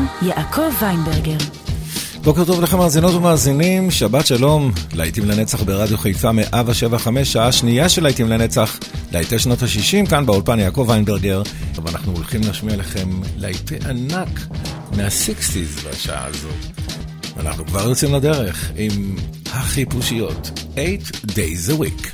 יעקב ויינברגר. בוקר טוב לכם מאזינות ומאזינים, שבת שלום, להיטים לנצח ברדיו חיפה 175, שעה שנייה של להיטים לנצח, להיטי שנות ה-60, כאן באולפן יעקב ויינברגר, ואנחנו הולכים להשמיע לכם להיטי ענק מה-60s בשעה הזו. אנחנו כבר יוצאים לדרך עם החיפושיות, 8 days a week.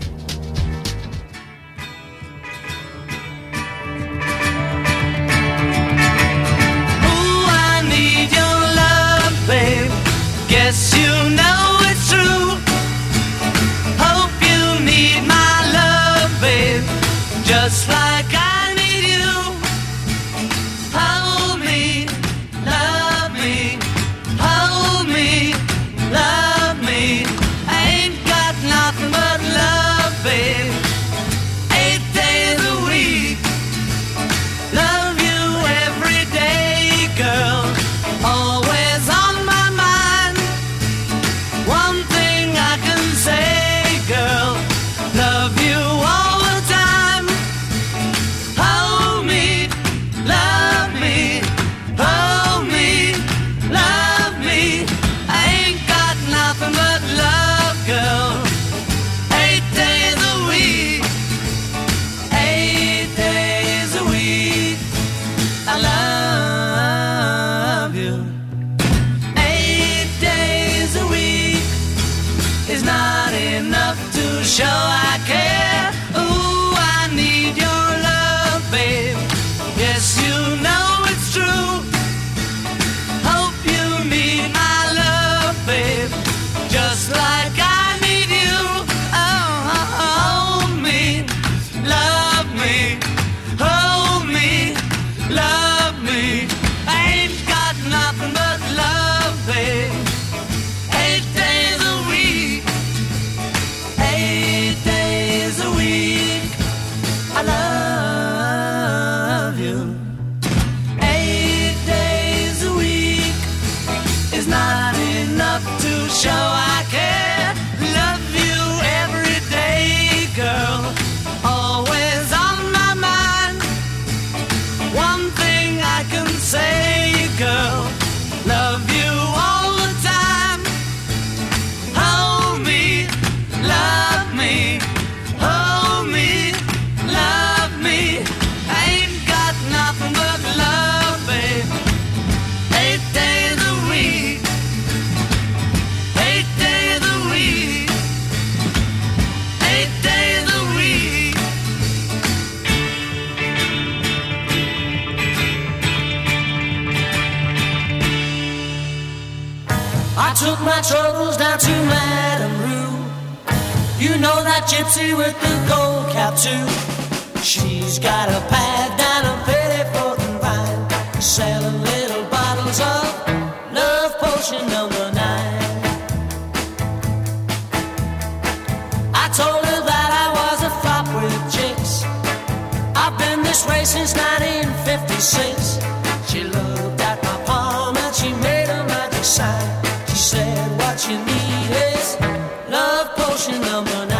Guess you know it's true. Hope you need my love, babe, just like I need you. Hold me, love me, hold me, love me. I ain't got nothing but love, babe. 8 days a week. Love you every day, girl. Always on my mind. One thing I can say, girl, love you all the time. Hold me, love me, hold me, love me. I ain't got nothing but love, girl. 8 days a week, 8 days a week. I love you. 8 days a week is not enough to show I care. Ooh, I need your love, babe. Yes, you know it's true. Hope you need my love, babe, just like I need you. Oh, hold me, love me, hold me, love me. I ain't got nothing but love, babe. 8 days a week, 8 days a week. I love you. 8 days a week is not enough to show I care. Love you every day, girl. Always on my mind. One thing I can say, girl, love you all the time. Hold me, love me, hold me, love me. I ain't got nothing but love, babe. 8 days a week, 8 days a week, 8 days a week. I took my troubles down to Madame Rue. You know that gypsy with the gold cap too. She's got a pad down a Pettiford and Vine, selling little bottles of love potion number 9. I told her that I was a flop with chicks. I've been this way since 1956. She looked at my palm and she made a magic sign. She said, what you need is love potion number 9.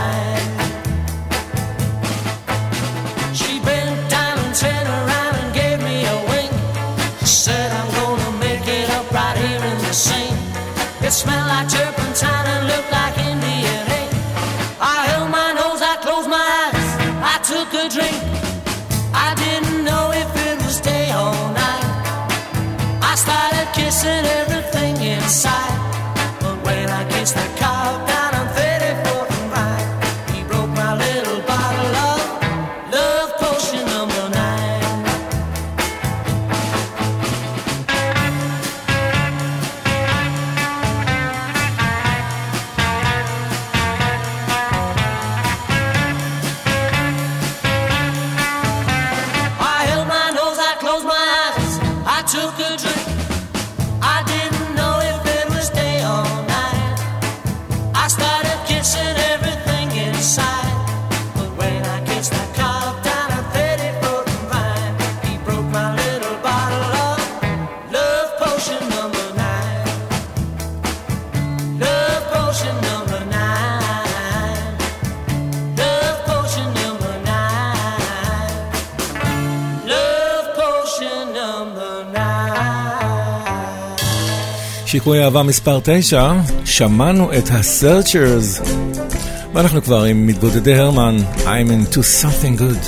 She bent down and turned around and gave me a wink. She said, I'm gonna make it up right here in the sink. It smelled like turpentine and looked like Indian ink. I held my nose, I closed my eyes, I took a drink. I didn't know if it was day or night. I started kissing everything inside. But when I kissed the cow down on 34th and Rye, he broke my little bottle of love potion number 9. I held my nose, I closed my eyes, I took a drink. I didn't know if it was day or night. שיקוי אהבה מספר 9, שמענו את ה-Searchers, ואנחנו כבר עם מתבודדי הרמן, I'm into something good.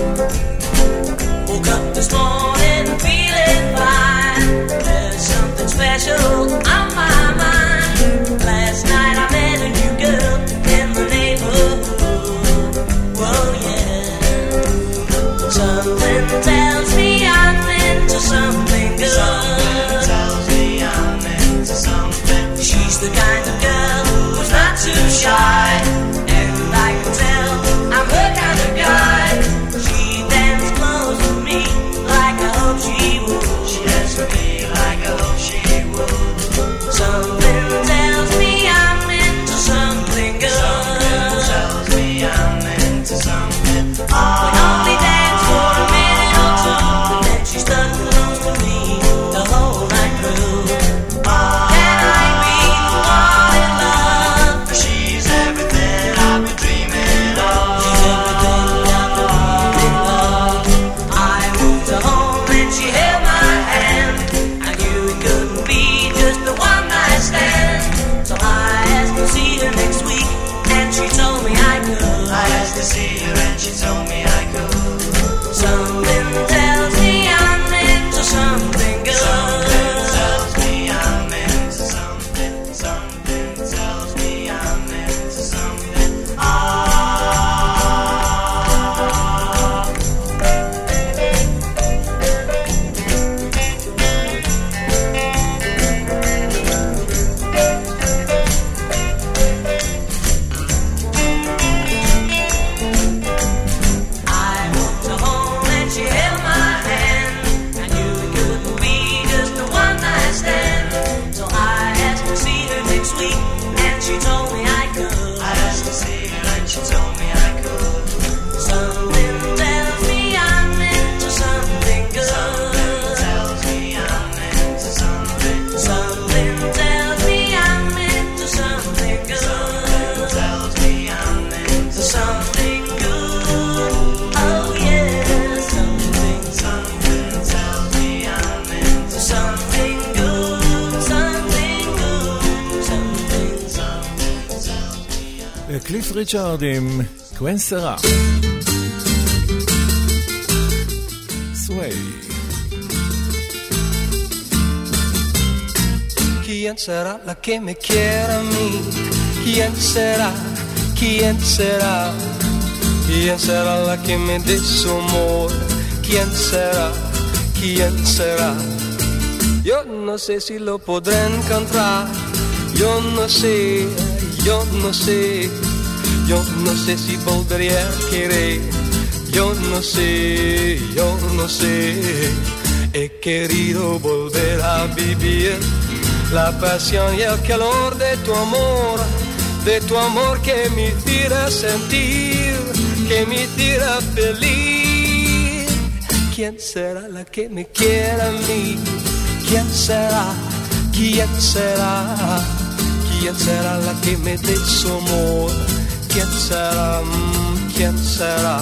Woke up this morning feeling fine. There's something special on my mind. Last night I met a new girl in the neighborhood. Whoa, yeah. Something tells me I'm into something good. Something tells me I'm into something. She's the kind of girl who's not too shy. And I can tell I'm her kind of guy. She dances close to me like I hope she would. She dances with me like I hope she would. Something tells me I'm into something good. Something tells me I'm into something. We only dance for a minute or two, and then she stuck close to me the whole night through. Can I be the one in love? She's everything I've been dreaming of. She's everything I've been dreaming of. I moved her home and she held my hand. I knew it couldn't be just a one night stand. So I asked to see her next week, and she told me I could. I asked to see her and she told me I could. Something tells me I'm into something good. Something tells me I'm into something. Something tells me I'm into something. I walked her home and she held my hand. I knew it couldn't be just a one night stand. So I asked to see her next week, and she told me I could. I asked to see her and she told me I could. Something tells me I'm into something good. Something tells me I'm into something. Something tells me I'm into something good. Something tells me I'm into something good. Oh yeah, something tells me I'm into something good. Something good. Something tells me. קליף ריצ'ארד עם קווין סרה. סווי. ¿Quién será la que me quiera a mí? ¿Quién será? ¿Quién será? ¿Quién será la que me dé su amor? ¿Quién será? ¿Quién será? Yo no sé si lo podré encontrar. Yo no sé, yo no sé. Yo no sé si volveré a querer. Yo no sé, yo no sé. He querido volver a vivir la pasión y el calor de tu amor que me hiciera sentir, que me hiciera feliz. ¿Quién será la que me quiera a mí? ¿Quién será? ¿Quién será? ¿Quién será la que me dé su amor? ¿Quién será? ¿Quién será?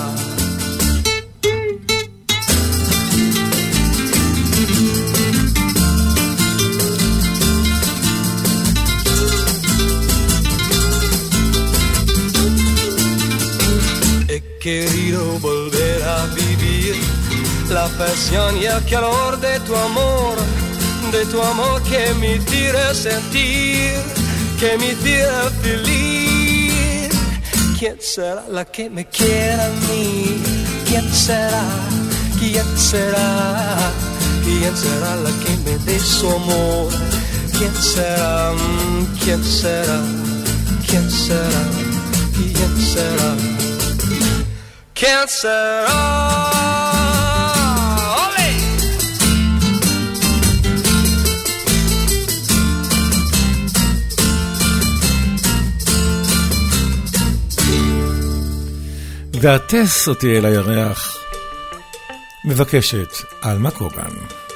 He querido volver a vivir la pasión y el calor de tu amor que me hiciera sentir, que me hiciera feliz. ¿Quién será la que me quiera a mí? ¿Quién será? ¿Quién será? ¿Quién será la que me dé su amor? ¿Quién será? ¿Quién será? ¿Quién será? ¿Quién será? ¿Quién será? ¡Ole! והטס אותי אל הירח, מבקשת אלמה קוגן.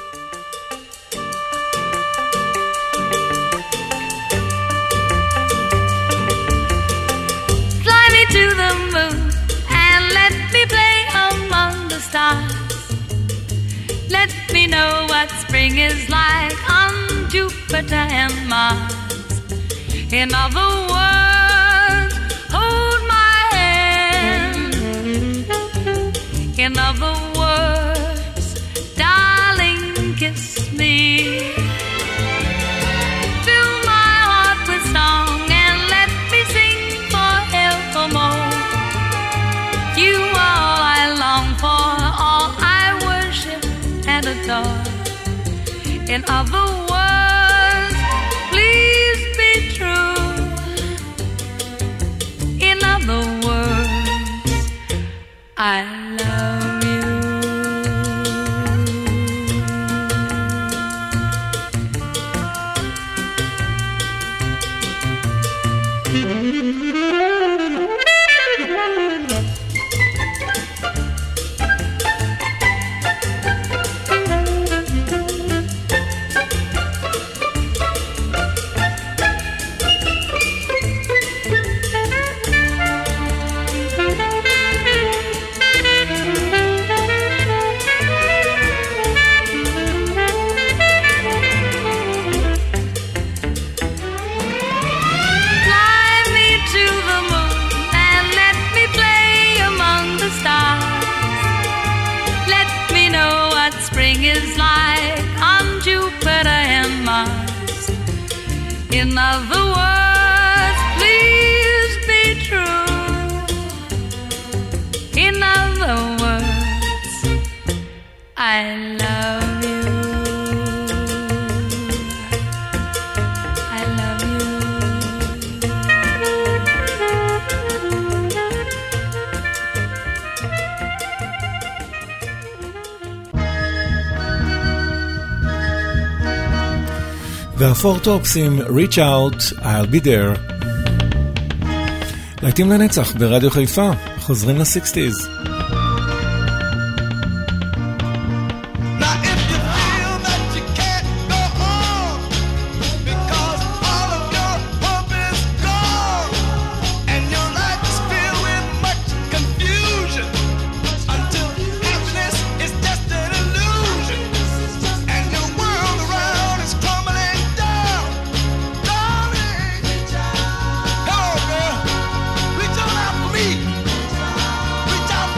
Fly me to the moon and let me play among the stars. Let me know what spring is like on Jupiter and Mars. In other words, hold my hand. In other words, darling, kiss me. Fill my heart with song and let me sing forevermore. You are all I long for, all I worship and adore. In other words, please be true. In other words, I love you. In other words, please be true. In other words, I love you. I love you. והפורטופס עם Reach Out, I'll Be There. להיטים לנצח ברדיו חיפה, חוזרים ל-60s. Reach out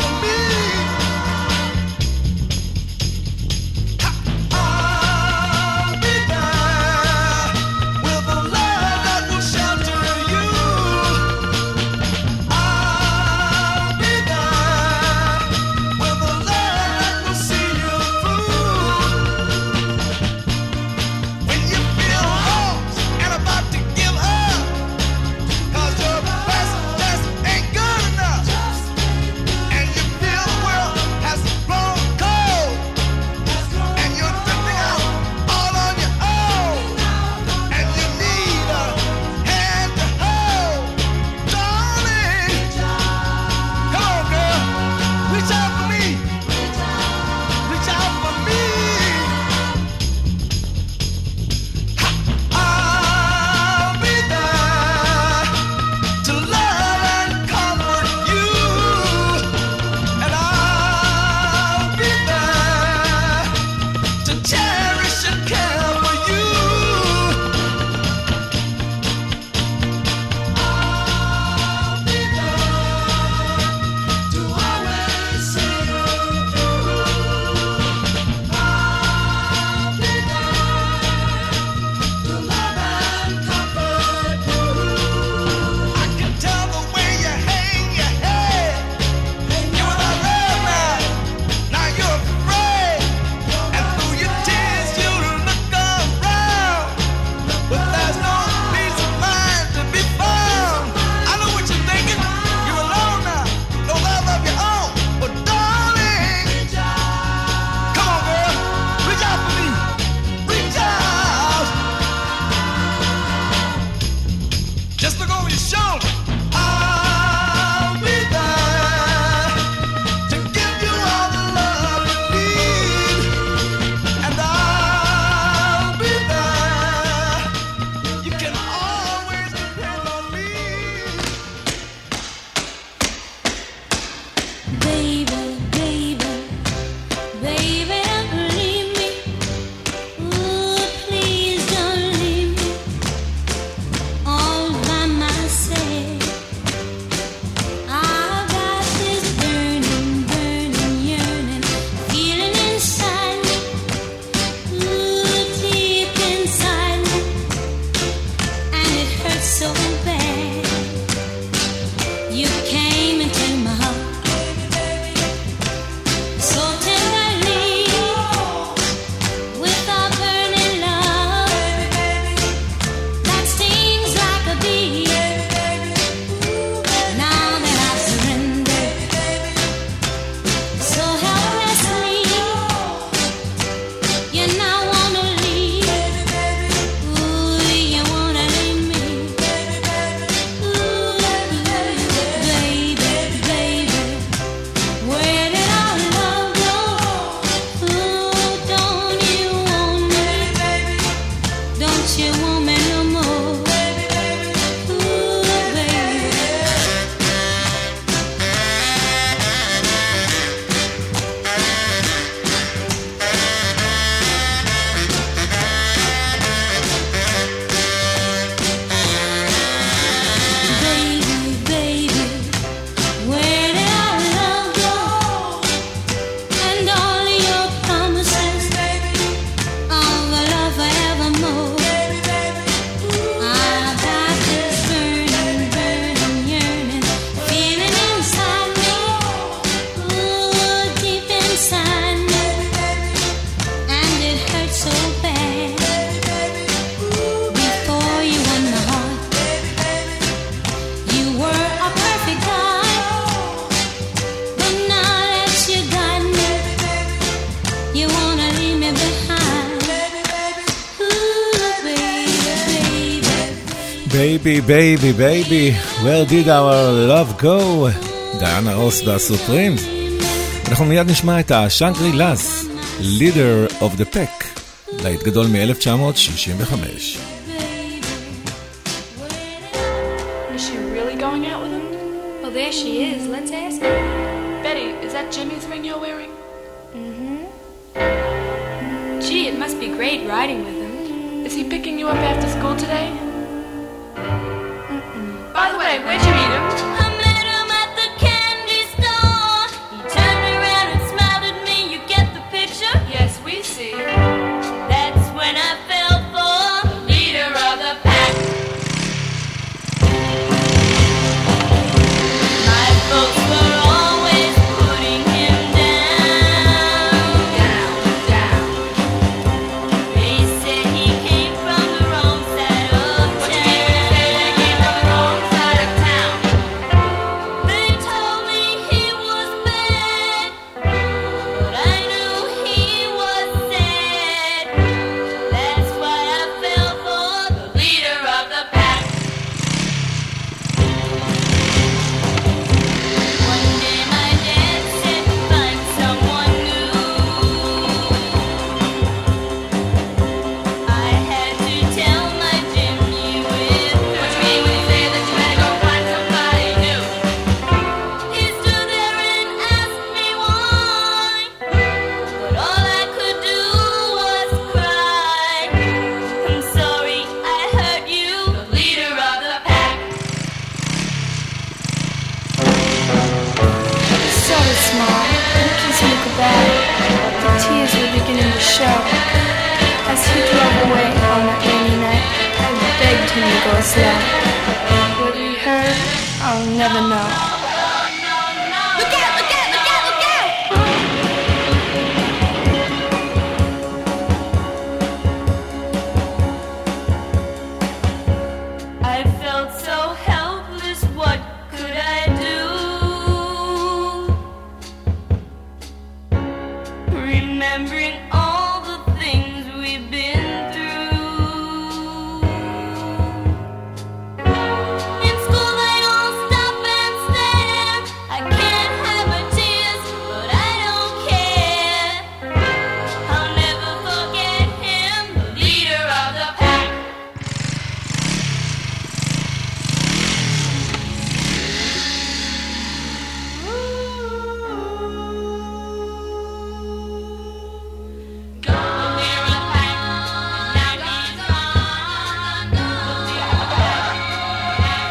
Baby, baby, baby, where did our love go? דיאנה רוס והסופרימס. אנחנו מיד נשמע את השנגרי לס, Leader of the Pack, להיט גדול מ-1965. Is she really going out with him? Well, there she is. Let's ask her. Betty, is that Jimmy's ring you're wearing? Gee, it must be great riding with him. Is he picking you up after school today? By the way, where'd you meet him? I met him at the candy store. He turned around and smiled at me. You get the picture? Yes, we see. That's when I fell for the leader of the pack. My folks were always putting him down. Down. They said he came from the wrong side of What you town. mean when you say they came from the wrong side of town? They told me he was bad, but I knew he was sad. That's why I fell for the leader of the pack. One day my dad said, find someone new. I had to tell my Jimmy with What you mean when you say that you had to go find somebody new? He stood there and asked me why, but all I could do was cry. I'm sorry I hurt you, The leader of the pack. So small, and kissing me goodbye. The tears were beginning to show. As he drove away on that rainy night, I begged him to go slow. What he heard, I'll never know. Look out, look out, look out, look out! I felt so helpless, what could I do? Remembering all the things we've been through. In school they all stop and stare. I can't have her tears, but I don't care. I'll never forget him, the leader of the pack. The leader of the pack. Now he's gone. The leader of the pack.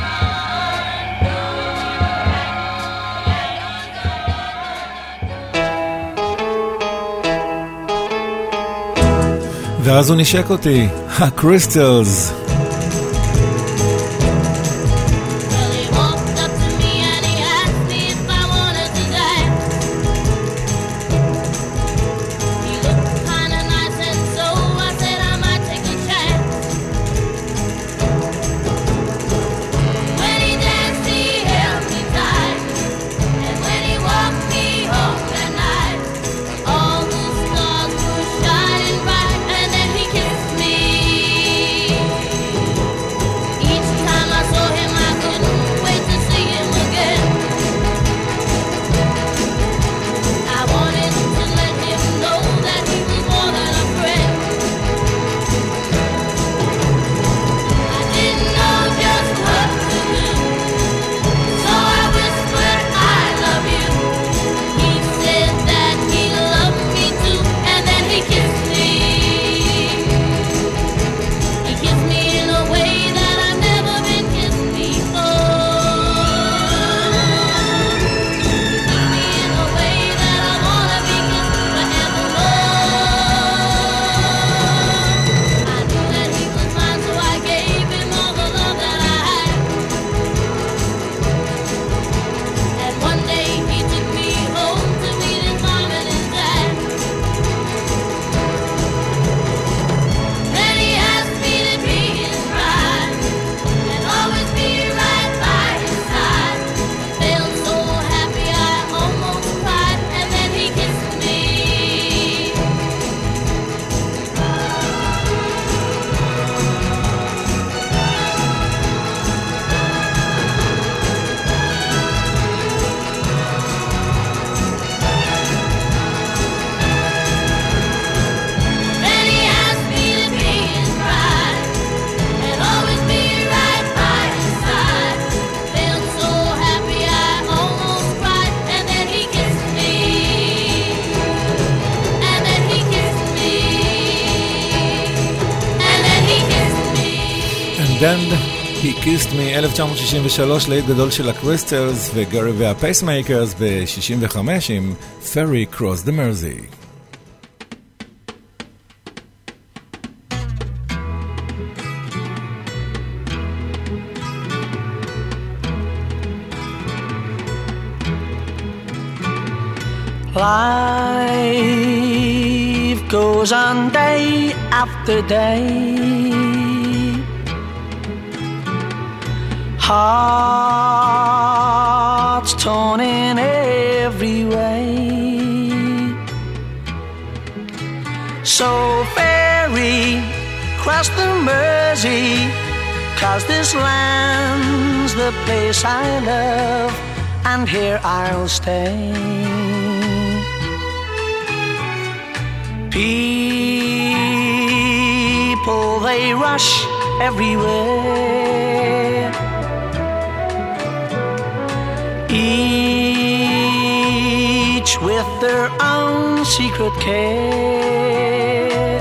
ואז הוא נשק אותי, הקריסטלס. Well, he walked up to me and he asked me if I wanted to die. He looked kinda nice and so I said I might take a chance. When he danced he held me tight, and when he walked me home that night, all the stars were shining bright, and then he kissed me. Damned, He Kissed Me, 1963, להיט גדול של הקריסטלס וגרי והפייסמייקרס ב-65 עם Ferry Cross the Mersey. Life goes on day after day, hearts torn in every way. So ferry cross the Mersey, 'cause this land's the place I love, and here I'll stay. People, they rush everywhere, each with their own secret care.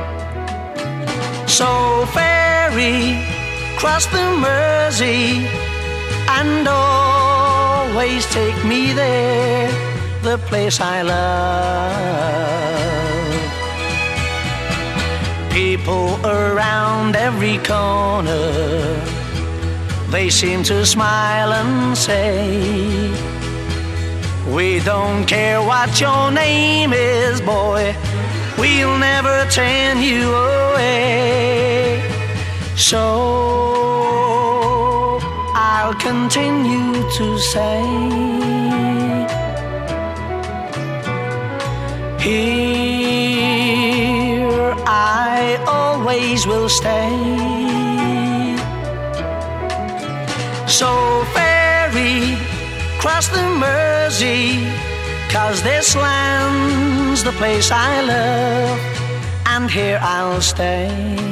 So ferry cross the Mersey and always take me there, the place I love. People around every corner, they seem to smile and say, we don't care what your name is, boy, we'll never turn you away. So I'll continue to say, here I always will stay. So ferry cross the Mersey, 'cause this land's the place I love, and here I'll stay,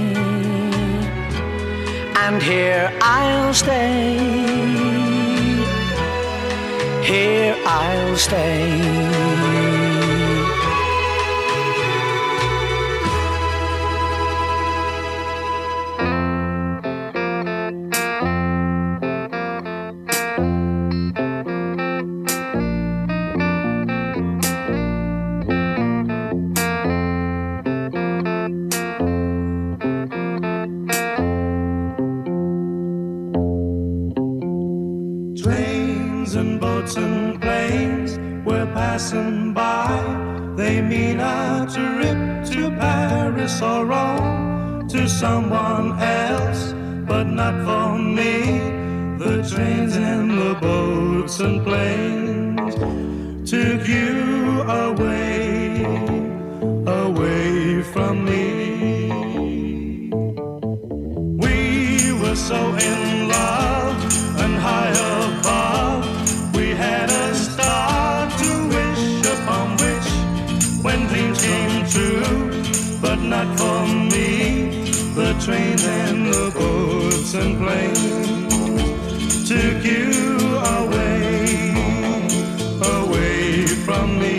and here I'll stay, here I'll stay. Someone else, but not for me. The trains and the boats and planes took you away, away from me. We were so in love and high above, we had a star to wish upon which, when dreams came true, but not for me. The trains and the boats and planes took you away, away from me.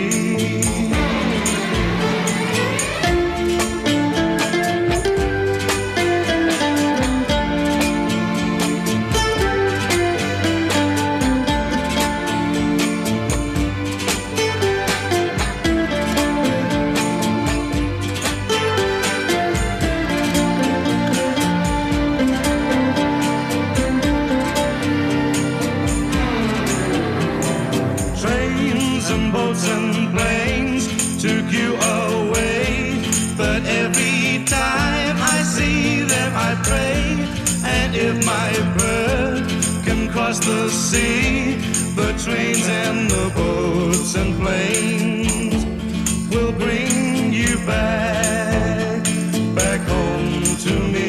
The sea, the trains and the boats and planes will bring you back, back home to me.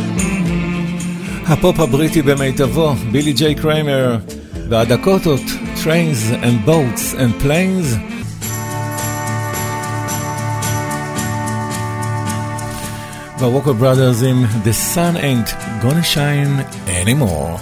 הפופ הבריטי במיטבו, בילי ג'יי קריימר והדקוטות Trains and Boats and Planes. והווקר בראדרס עם The Sun Ain't Gonna Shine Anymore.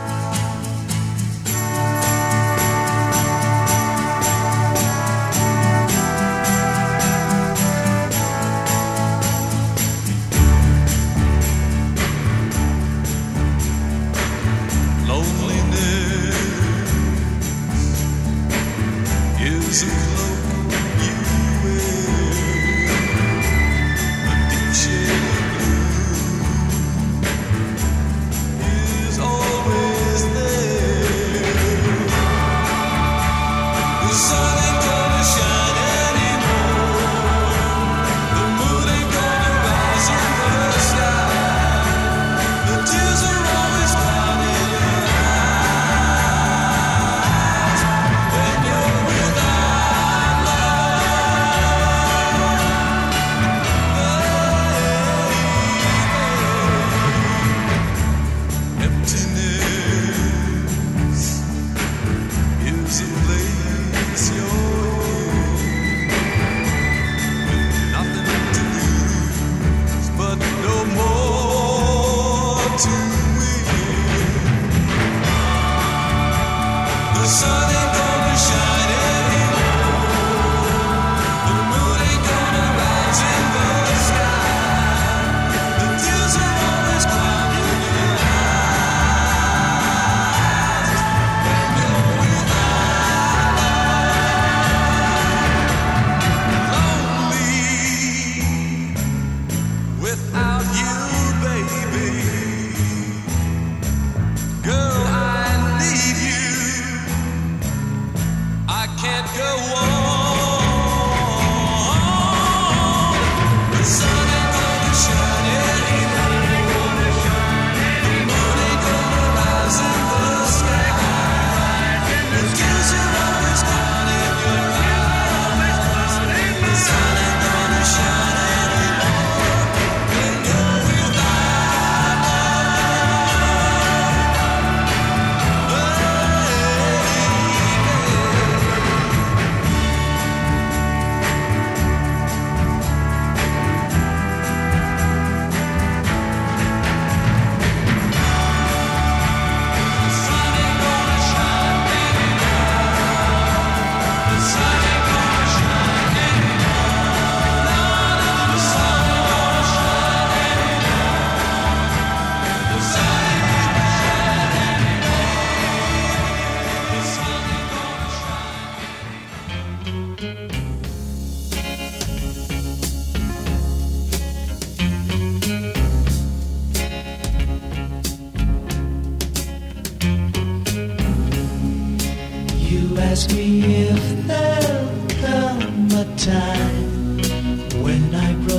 ask me if there'll come a time when I grow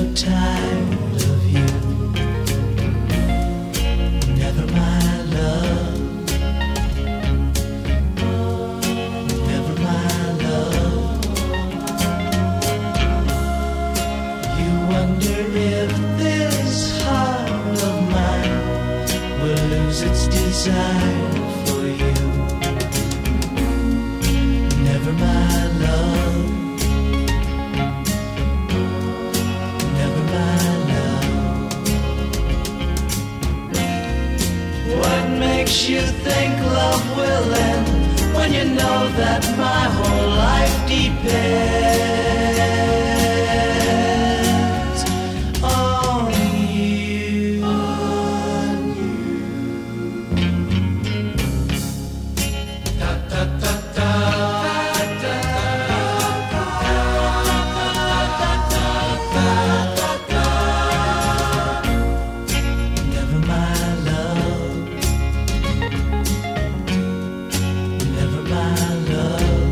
tired of you. Never, my love. Never, my love. You wonder if this heart of mine will lose its desire for you. Never, my love. Never, my love. What makes you think love will end when you know that my whole life depends on you? On you. Da, da, da, da. Never, my love. Never, my love.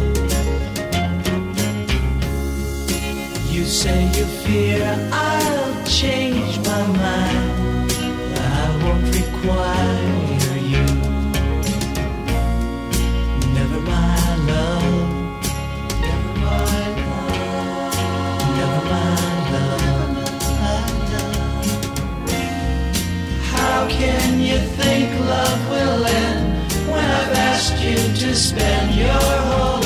You say you fear I'll change my mind. I won't require you. Never, my love. Never, my love. Never, my love. How can you think love will end when I've asked you to spend your whole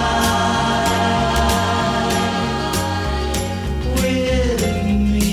life with me.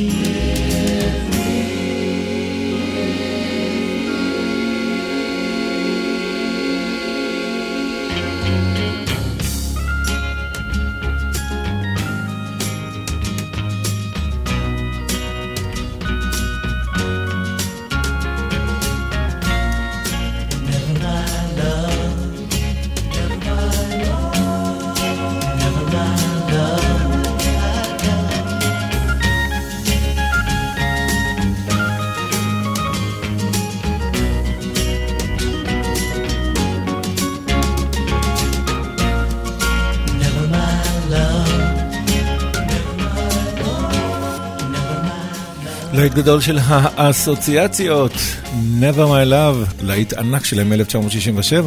להיט גדול של האסוציאציות, Never My Love, להיט ענק שלהם מ-1967.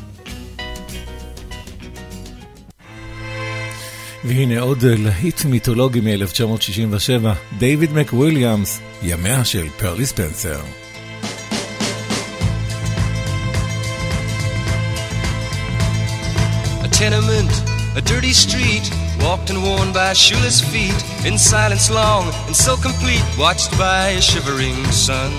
והנה עוד להיט מיתולוגי מ-1967, דייוויד מקוויליאמס, ימיה של פרלי ספנסר. A tenement, a dirty street, walked and worn by shoeless feet, in silence long and so complete, watched by a shivering sun.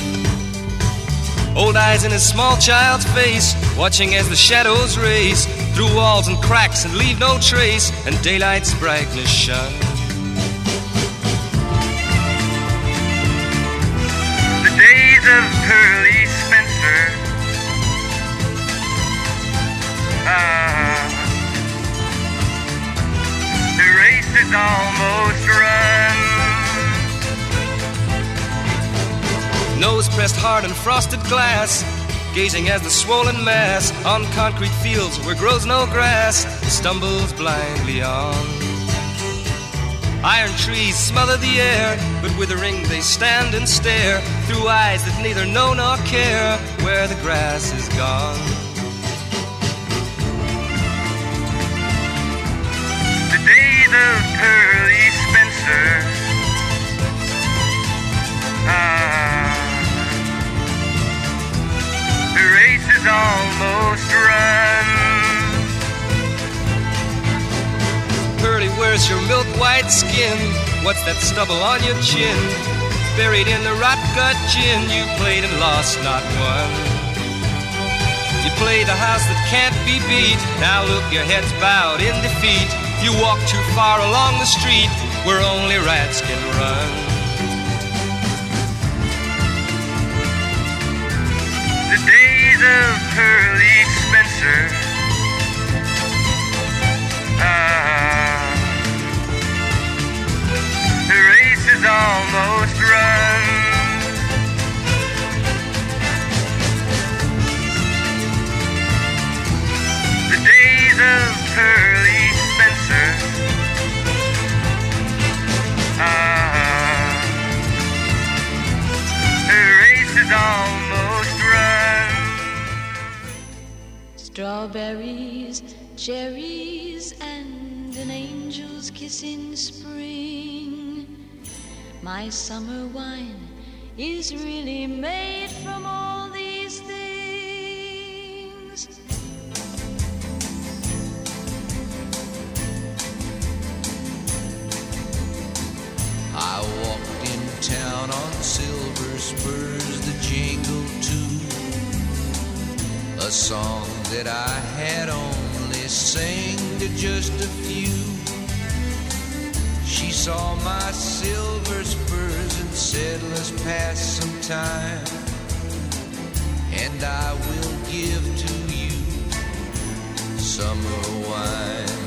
Old eyes in a small child's face, watching as the shadows race through walls and cracks and leave no trace, and daylight's brightness shine. The days of Pearly Spencer, the race is almost run. Nose pressed hard on frosted glass, gazing as the swollen mass on concrete fields where grows no grass stumbles blindly on. Iron trees smother the air, but withering they stand and stare through eyes that neither know nor care where the grass is gone. The days of Pearly Spencer, the race is almost run. Pearly, where's your milk-white skin? What's that stubble on your chin? Buried in the rot-gut gin, you played and lost not one. You play the house that can't be beat, now look, your head's bowed in defeat. You walk too far along the street where only rats can run. The days of Pearly Spencer, the race is almost run. The days of Pearly Spencer, the race is almost run. Strawberries, cherries, and an angel's kiss in spring. My summer wine is really made from all these things. I walked in town on silver spurs that jingled too, a song that I had only sang to just a few. She saw my silver spurs and said, let's pass some time, and I will give to you summer wine.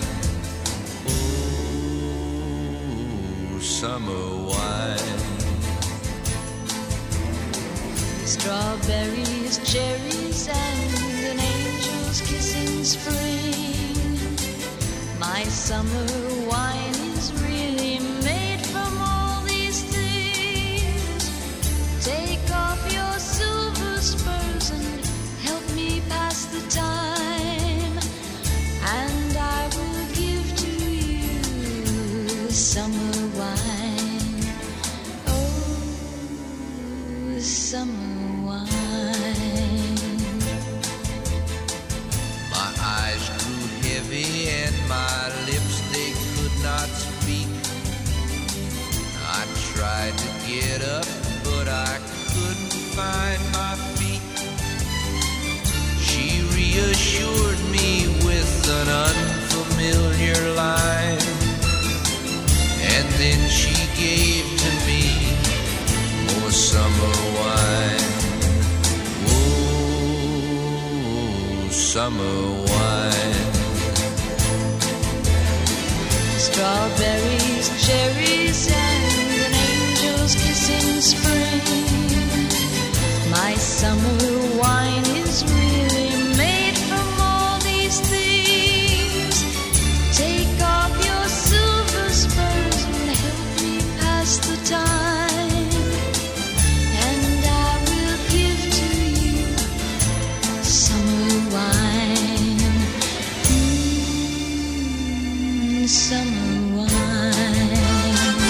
Oh, summer wine. Strawberries, cherries, and an angel's kiss in spring. My summer wine is really made from all these things. Take off your silver spurs and help me pass the time, and I will give to you summer wine. Oh, summer wine. reassured me with an unfamiliar line, and then she gave to me more summer wine. Oh, summer wine. Strawberries, cherries, and an angel's kiss in spring. My summer wine is really made from all these things. Take off your silver spurs and help me pass the time, and I will give to you summer wine. Summer wine.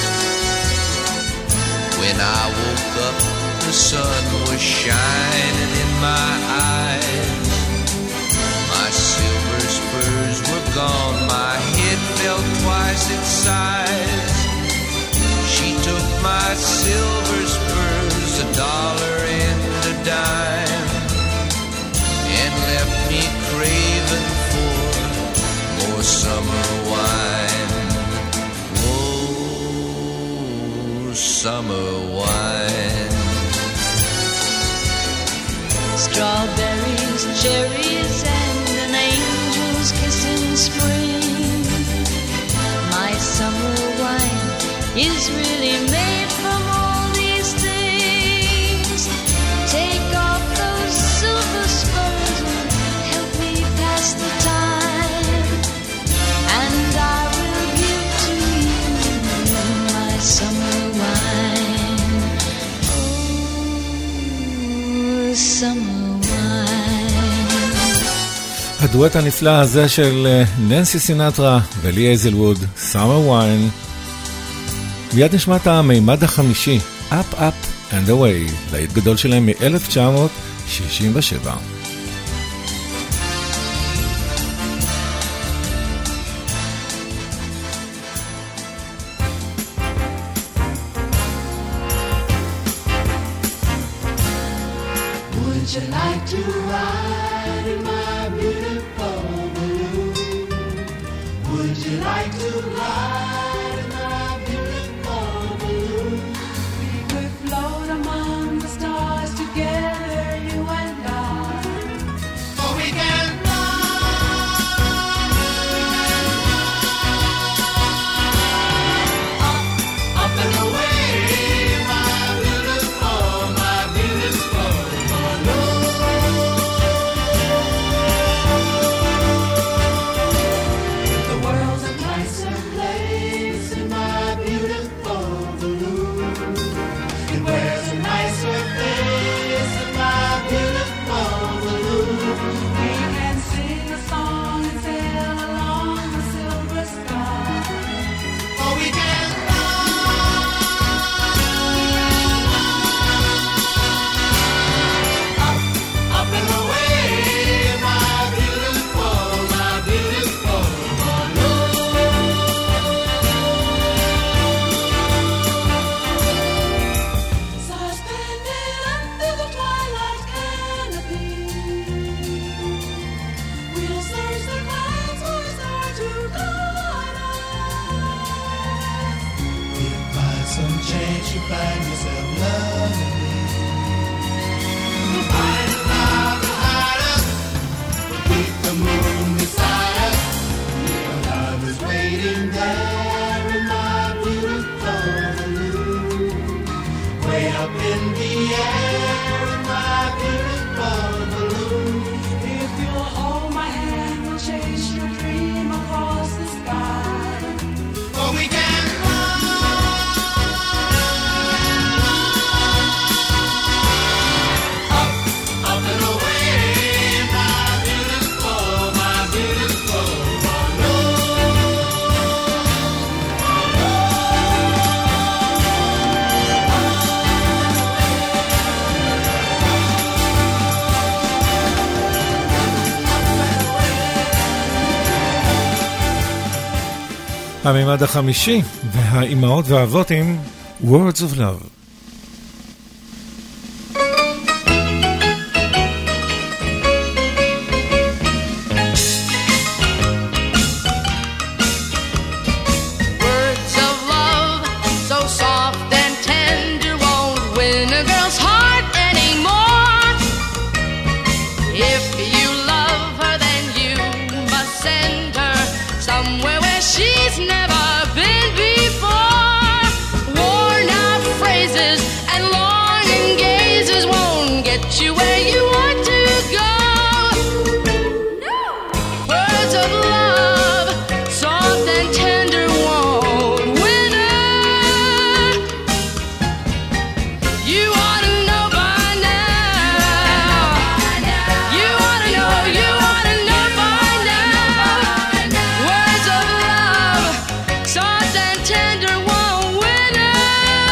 When I woke up, the sun was shining in my eyes. My silver spurs were gone, my head fell twice its size. She took my silver spurs, $1 and a dime, and left me craving for more summer wine. Oh, summer wine. Strawberries, cherries, and an angel's kiss in spring. My summer wine is really made from all these things. Take off those silver spurs and help me pass the time, and I will give to you my summer wine. Oh, summer. הדואט הנפלא הזה של ננסי סינטרה ולי אייזלווד, Summer Wine. מיד נשמע את המימד החמישי, Up Up and Away, להיט גדול שלהם מ-1967. Would you like to ride in my beautiful balloon? Would you like to ride in my beautiful balloon? We could float among the stars together, you and I. Oh, we can fly up and away. המימד החמישי והאימהות והאבות עם Words of Love. she's never been before. Worn out phrases and longing gazes won't get you where you want to go. Words of love, soft and tender, won't win her. You ought to know by now. You ought to know, you ought to know by now. Words of love, soft and tender, won't win her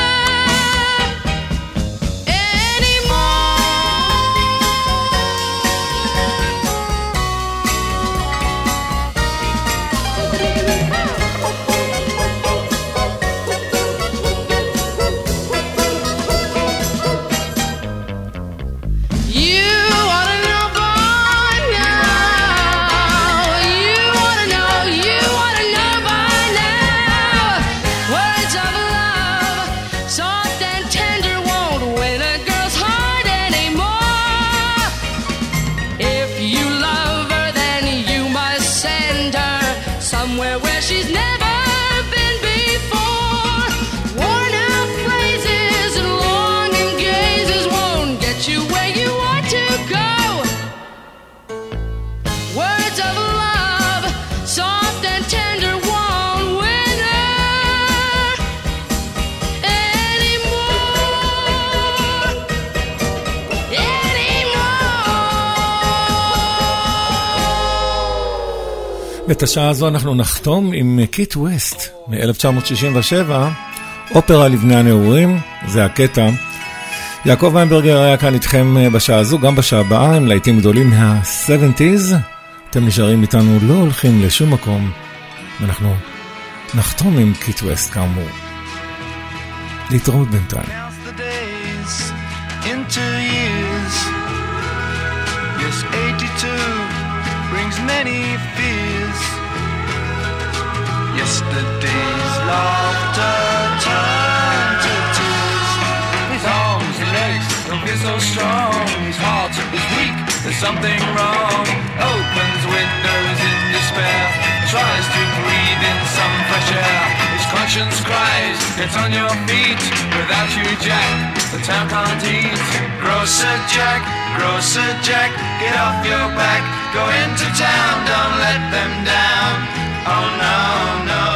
You ought to know by now. You ought to know, you ought to know by now. Words of love, soft and tender, won't win a girl's heart anymore. If you love her, then you must send her somewhere where she's never been before. Worn out phrases and longing gazes won't get you where you want to go. Words of love, soft and tender, won't win her anymore. ואת השעה הזו אנחנו נחתום עם קיט ווסט מ-1967, אופרה לבני הנעורים, זה הקטע. יעקב ויינברגר היה כאן איתכם בשעה הזו, גם בשעה הבאה, עם להיטים גדולים מה-70s. אתם נשארים איתנו, לא הולכים לשום מקום, ואנחנו נחתום עם קיט ווסט כאמור. להתראות בינתיים. Counts the days into years. Yes, 82 brings many fears. Yesterday's laughter turned to tears. His arms and legs don't feel so strong. His heart is weak, there's something wrong. Opens windows in despair, tries to breathe in some fresh air. His conscience cries, get on your feet. Without you, Jack, the town can't eat. Grocer Jack, get off your back. Go into town, don't let them down. Oh no, no.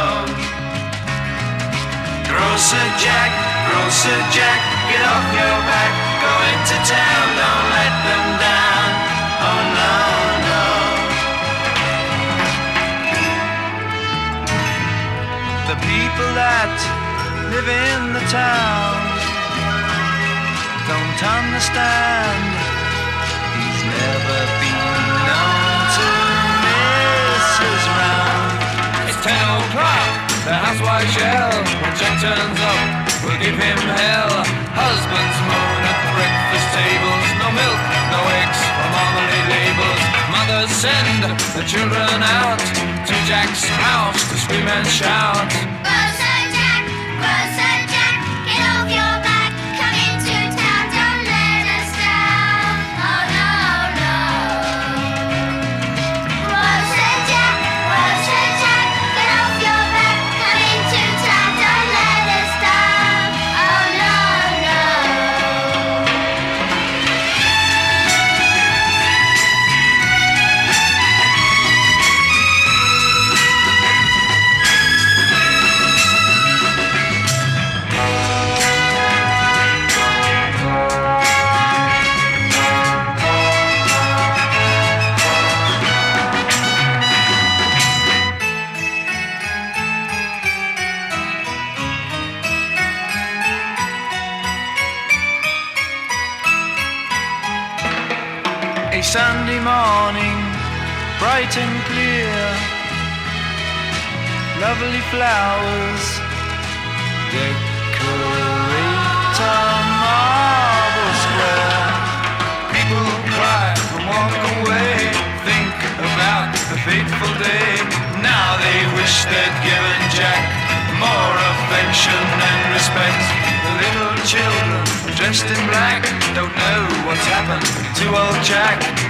Grocer Jack, get off your back. Go into town, don't let them down. Oh no, no. The people that live in the town don't understand. He's never been known to miss his round. It's 10 o'clock, the housewife yell. When Jack turns up, we'll give him hell. Husbands moan at breakfast tables. No milk, no eggs, or marmalade labels. Mothers send the children out to Jack's house to scream and shout. Grocer Jack, get off your back. Come into town, don't let us down. Oh no, no. Grocer Jack, get off your back. Come into town, don't let us down. Oh no, no. A Sunday morning, bright and clear, lovely flowers decorate a marble square. People cry and walk away, think about the fateful day. Now they wish they'd given Jack more affection and respect. The little children dressed in black don't know what's happened to old Jack.